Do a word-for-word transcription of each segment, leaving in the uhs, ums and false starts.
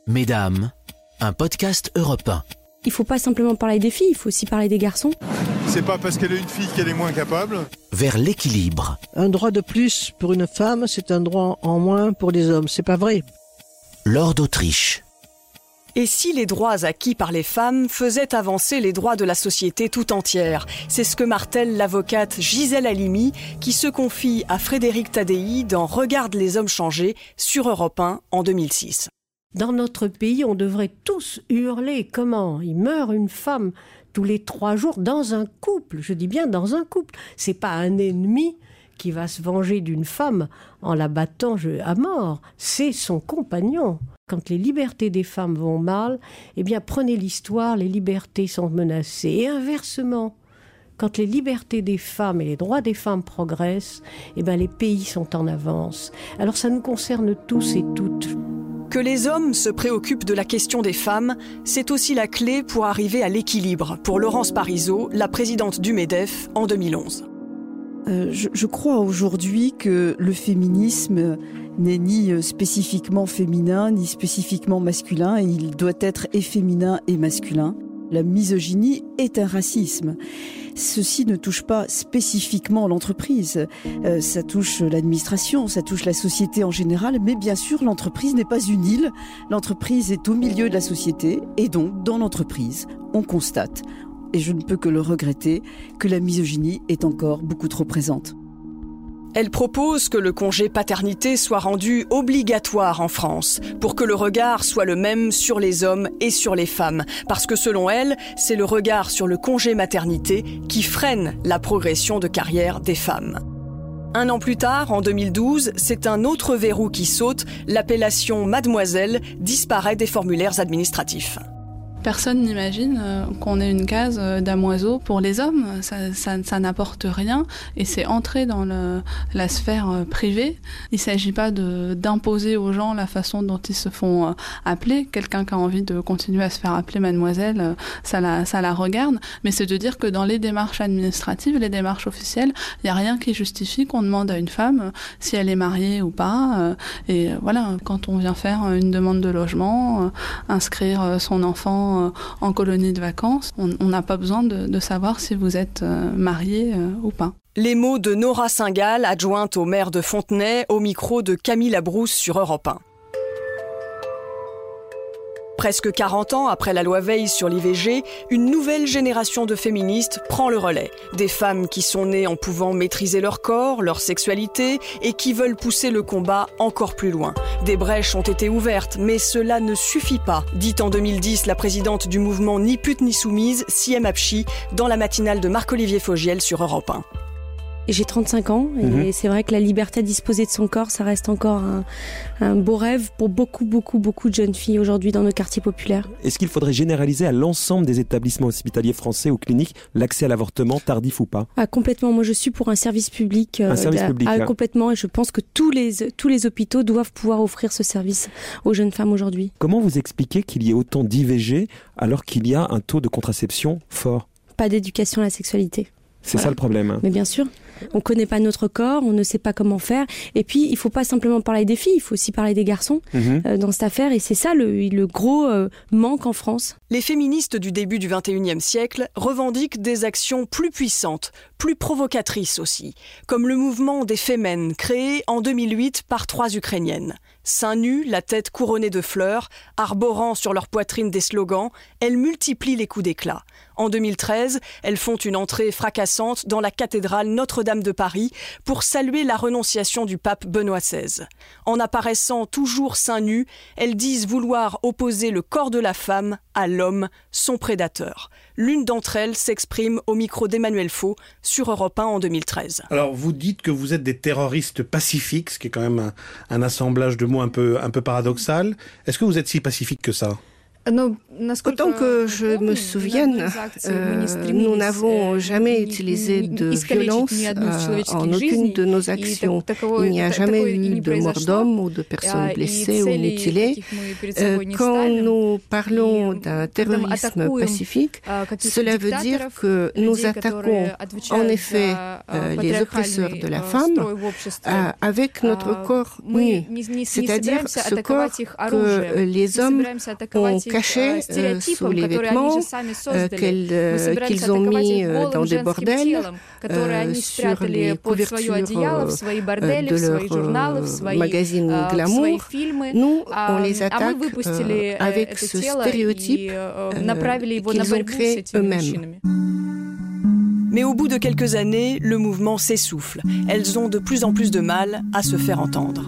Mesdames, un podcast Europe un. Il ne faut pas simplement parler des filles, il faut aussi parler des garçons. C'est pas parce qu'elle est une fille qu'elle est moins capable. Vers l'équilibre. Un droit de plus pour une femme, c'est un droit en moins pour les hommes. C'est pas vrai. Laure d'Autriche. Et si les droits acquis par les femmes faisaient avancer les droits de la société tout entière ? C'est ce que martèle l'avocate Gisèle Halimi, qui se confie à Frédéric Tadei dans Regarde les hommes changer sur Europe un en deux mille six. Dans notre pays, on devrait tous hurler. Comment ? Il meurt une femme tous les trois jours dans un couple. Je dis bien dans un couple. C'est pas un ennemi qui va se venger d'une femme en la battant à mort. C'est son compagnon. Quand les libertés des femmes vont mal, eh bien prenez l'histoire, les libertés sont menacées. Et inversement, quand les libertés des femmes et les droits des femmes progressent, eh bien les pays sont en avance. Alors ça nous concerne tous et toutes. Que les hommes se préoccupent de la question des femmes, c'est aussi la clé pour arriver à l'équilibre, pour Laurence Parisot, la présidente du MEDEF en deux mille onze. Euh, je, je crois aujourd'hui que le féminisme n'est ni spécifiquement féminin, ni spécifiquement masculin, et il doit être et féminin et masculin. La misogynie est un racisme. Ceci ne touche pas spécifiquement l'entreprise. Euh, ça touche l'administration, ça touche la société en général, mais bien sûr, l'entreprise n'est pas une île. L'entreprise est au milieu de la société, et donc, dans l'entreprise, on constate, et je ne peux que le regretter, que la misogynie est encore beaucoup trop présente. Elle propose que le congé paternité soit rendu obligatoire en France pour que le regard soit le même sur les hommes et sur les femmes. Parce que selon elle, c'est le regard sur le congé maternité qui freine la progression de carrière des femmes. Un an plus tard, en deux mille douze, c'est un autre verrou qui saute. L'appellation mademoiselle disparaît des formulaires administratifs. Personne n'imagine qu'on ait une case damoiseau pour les hommes. Ça, ça, ça n'apporte rien et c'est entrer dans le, la sphère privée. Il ne s'agit pas de, d'imposer aux gens la façon dont ils se font appeler. Quelqu'un qui a envie de continuer à se faire appeler mademoiselle, ça la, ça la regarde. Mais c'est de dire que dans les démarches administratives, les démarches officielles, il n'y a rien qui justifie qu'on demande à une femme si elle est mariée ou pas. Et voilà, quand on vient faire une demande de logement, inscrire son enfant en colonie de vacances, on n'a pas besoin de, de savoir si vous êtes euh, marié euh, ou pas. Les mots de Nora Singal, adjointe au maire de Fontenay, au micro de Camille Labrousse sur Europe un. Presque quarante ans après la loi Veil sur l'I V G, une nouvelle génération de féministes prend le relais. Des femmes qui sont nées en pouvant maîtriser leur corps, leur sexualité et qui veulent pousser le combat encore plus loin. Des brèches ont été ouvertes, mais cela ne suffit pas, dit en deux mille dix la présidente du mouvement Ni pute ni soumise, Siem Abchi, dans la matinale de Marc-Olivier Fogiel sur Europe un. J'ai trente-cinq ans et mmh. c'est vrai que la liberté à disposer de son corps, ça reste encore un, un beau rêve pour beaucoup, beaucoup, beaucoup de jeunes filles aujourd'hui dans nos quartiers populaires. Est-ce qu'il faudrait généraliser à l'ensemble des établissements hospitaliers français ou cliniques l'accès à l'avortement, tardif ou pas ? Ah, complètement. Moi, je suis pour un service public. Un euh, service public. Ah, hein. Complètement. Et je pense que tous les, tous les hôpitaux doivent pouvoir offrir ce service aux jeunes femmes aujourd'hui. Comment vous expliquez qu'il y ait autant d'I V G alors qu'il y a un taux de contraception fort ? Pas d'éducation à la sexualité. C'est voilà. ça le problème. Hein. Mais bien sûr. On ne connaît pas notre corps, on ne sait pas comment faire. Et puis, il ne faut pas simplement parler des filles, il faut aussi parler des garçons mmh. euh, dans cette affaire. Et c'est ça le, le gros euh, manque en France. Les féministes du début du vingt et unième siècle revendiquent des actions plus puissantes, plus provocatrices aussi, comme le mouvement des Femen, créé en deux mille huit par trois Ukrainiennes. Seins nus, la tête couronnée de fleurs, arborant sur leur poitrine des slogans, elles multiplient les coups d'éclat. En deux mille treize, elles font une entrée fracassante dans la cathédrale Notre-Dame de Paris pour saluer la renonciation du pape Benoît seize. En apparaissant toujours seins nus, elles disent vouloir opposer le corps de la femme à l'homme, son prédateur. L'une d'entre elles s'exprime au micro d'Emmanuel Faux sur Europe un en deux mille treize. Alors vous dites que vous êtes des terroristes pacifiques, ce qui est quand même un, un assemblage de mots un peu, un peu paradoxal. Est-ce que vous êtes si pacifique que ça ? Autant que je me souvienne, euh, nous n'avons jamais utilisé de violence euh, en aucune de nos actions. Il n'y a jamais eu de mort d'homme ou de personnes blessées ou mutilées. Euh, quand nous parlons d'un terrorisme pacifique, cela veut dire que nous attaquons en effet euh, les oppresseurs de la femme euh, avec notre corps nu, c'est-à-dire ce corps que les hommes ont caché euh, sous les vêtements euh, qu'elles, euh, qu'ils ont mis euh, dans des bordels, euh, sur les couvertures euh, de leurs euh, magazines glamour. Nous, on les attaque euh, avec ce stéréotype euh, qu'ils ont créé eux-mêmes. Mais au bout de quelques années, le mouvement s'essouffle. Elles ont de plus en plus de mal à se faire entendre.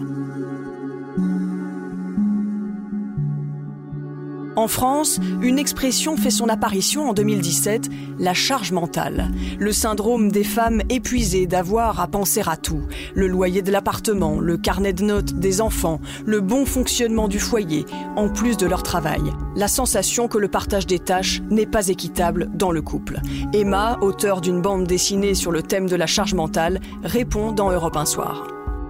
En France, une expression fait son apparition en deux mille dix-sept, la charge mentale. Le syndrome des femmes épuisées d'avoir à penser à tout. Le loyer de l'appartement, le carnet de notes des enfants, le bon fonctionnement du foyer, en plus de leur travail. La sensation que le partage des tâches n'est pas équitable dans le couple. Emma, auteure d'une bande dessinée sur le thème de la charge mentale, répond dans Europe un soir.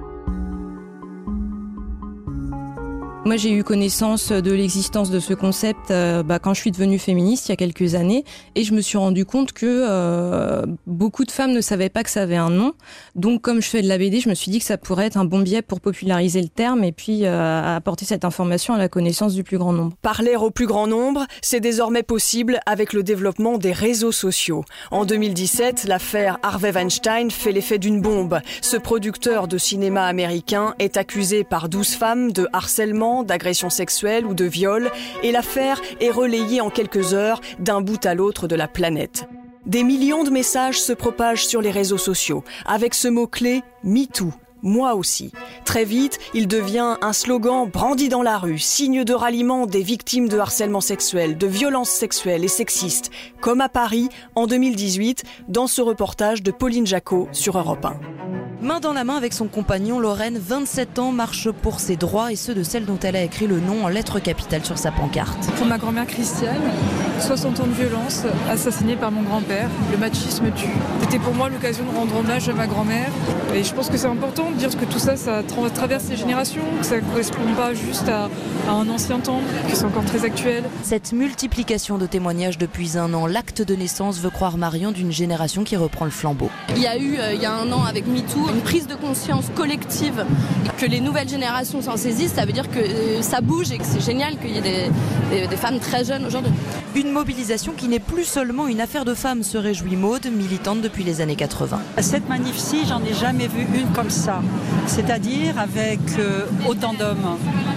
Moi, j'ai eu connaissance de l'existence de ce concept euh, bah, quand je suis devenue féministe il y a quelques années, et je me suis rendu compte que euh, beaucoup de femmes ne savaient pas que ça avait un nom. Donc, comme je fais de la B D, je me suis dit que ça pourrait être un bon biais pour populariser le terme et puis euh, apporter cette information à la connaissance du plus grand nombre. Parler au plus grand nombre, c'est désormais possible avec le développement des réseaux sociaux. En deux mille dix-sept, l'affaire Harvey Weinstein fait l'effet d'une bombe. Ce producteur de cinéma américain est accusé par douze femmes de harcèlement, d'agression sexuelle ou de viol, et l'affaire est relayée en quelques heures d'un bout à l'autre de la planète. Des millions de messages se propagent sur les réseaux sociaux, avec ce mot-clé « MeToo ». Moi aussi. Très vite, il devient un slogan brandi dans la rue, signe de ralliement des victimes de harcèlement sexuel, de violences sexuelles et sexistes, comme à Paris en deux mille dix-huit, dans ce reportage de Pauline Jacot sur Europe un. Main dans la main avec son compagnon, Lorraine, vingt-sept ans, marche pour ses droits et ceux de celle dont elle a écrit le nom en lettres capitales sur sa pancarte. Pour ma grand-mère Christiane, soixante ans de violence, assassinée par mon grand-père. Le machisme tue. C'était pour moi l'occasion de rendre hommage à ma grand-mère. Et je pense que c'est important de dire que tout ça, ça tra- traverse les générations, que ça ne correspond pas juste à, à un ancien temps, que c'est encore très actuel. Cette multiplication de témoignages depuis un an, l'acte de naissance veut croire Marion d'une génération qui reprend le flambeau. Il y a eu, euh, il y a un an avec MeToo, une prise de conscience collective, que les nouvelles générations s'en saisissent, ça veut dire que euh, ça bouge et que c'est génial qu'il y ait des, des, des femmes très jeunes aujourd'hui. Une mobilisation qui n'est plus seulement une affaire de femmes, se réjouit Maude, militante depuis les années quatre-vingts. Cette manif-ci, j'en ai jamais vu une comme ça, c'est-à-dire avec euh, autant d'hommes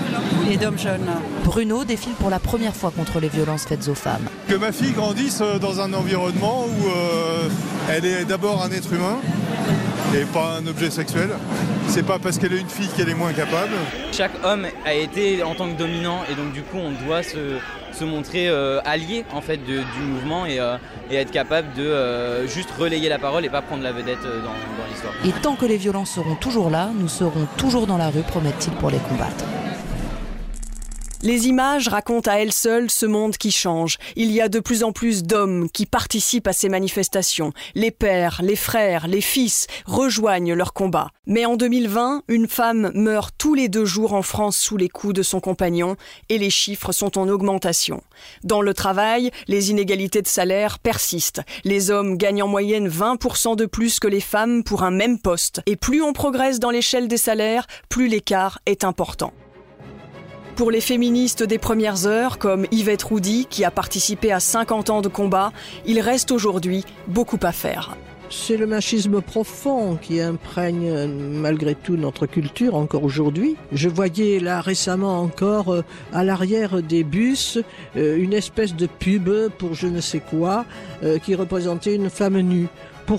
et d'hommes jeunes. Bruno défile pour la première fois contre les violences faites aux femmes. Que ma fille grandisse dans un environnement où euh, elle est d'abord un être humain et pas un objet sexuel. C'est pas parce qu'elle est une fille qu'elle est moins capable. Chaque homme a été en tant que dominant et donc du coup on doit se, se montrer euh, allié en fait de, du mouvement et, euh, et être capable de euh, juste relayer la parole et pas prendre la vedette dans, dans l'histoire. Et tant que les violences seront toujours là, nous serons toujours dans la rue, promettent-ils, pour les combattre. Les images racontent à elles seules ce monde qui change. Il y a de plus en plus d'hommes qui participent à ces manifestations. Les pères, les frères, les fils rejoignent leur combat. Mais en deux mille vingt, une femme meurt tous les deux jours en France sous les coups de son compagnon et les chiffres sont en augmentation. Dans le travail, les inégalités de salaire persistent. Les hommes gagnent en moyenne vingt pour cent de plus que les femmes pour un même poste. Et plus on progresse dans l'échelle des salaires, plus l'écart est important. Pour les féministes des premières heures, comme Yvette Roudy, qui a participé à cinquante ans de combat, il reste aujourd'hui beaucoup à faire. C'est le machisme profond qui imprègne malgré tout notre culture encore aujourd'hui. Je voyais là récemment encore euh, à l'arrière des bus euh, une espèce de pub pour je ne sais quoi euh, qui représentait une femme nue. Pourquoi ?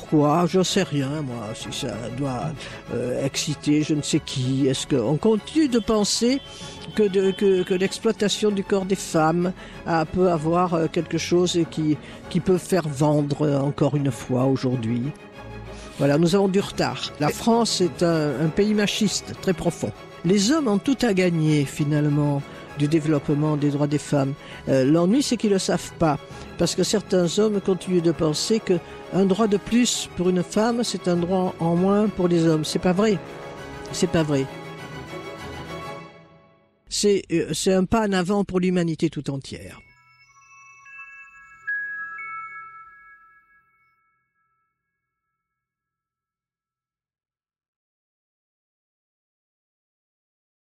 Je ne sais rien, moi, si ça doit euh, exciter je ne sais qui. Est-ce qu'on continue de penser que, de, que, que l'exploitation du corps des femmes euh, peut avoir euh, quelque chose qui, qui peut faire vendre euh, encore une fois aujourd'hui ? Voilà, nous avons du retard. La France est un, un pays machiste très profond. Les hommes ont tout à gagner, finalement. du développement des droits des femmes. Euh, l'ennui, c'est qu'ils ne le savent pas, parce que certains hommes continuent de penser qu'un droit de plus pour une femme, c'est un droit en moins pour les hommes. C'est pas vrai. C'est pas vrai. C'est, euh, c'est un pas en avant pour l'humanité tout entière.